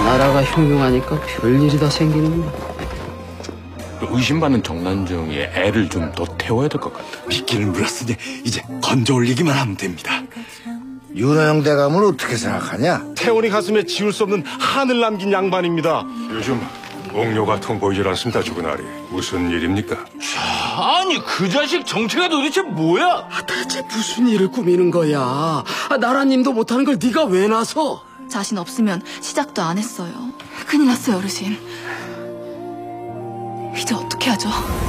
나라가 흉흉하니까 별일이 다 생기는구나. 의심받는 정난정이 애를 좀 더 태워야 될 것 같아. 미끼를 물었으니 이제 건져 올리기만 하면 됩니다. 윤호영 대감을 어떻게 생각하냐? 태원이 가슴에 지울 수 없는 한을 남긴 양반입니다. 요즘 옥료가 통 보이질 않습니다, 주근아리. 무슨 일입니까? 아니 그 자식 정체가 도대체 뭐야? 대체 무슨 일을 꾸미는 거야? 나라님도 못하는 걸 네가 왜 나서? 자신 없으면 시작도 안 했어요. 큰일 났어요, 어르신. 이제 어떻게 하죠?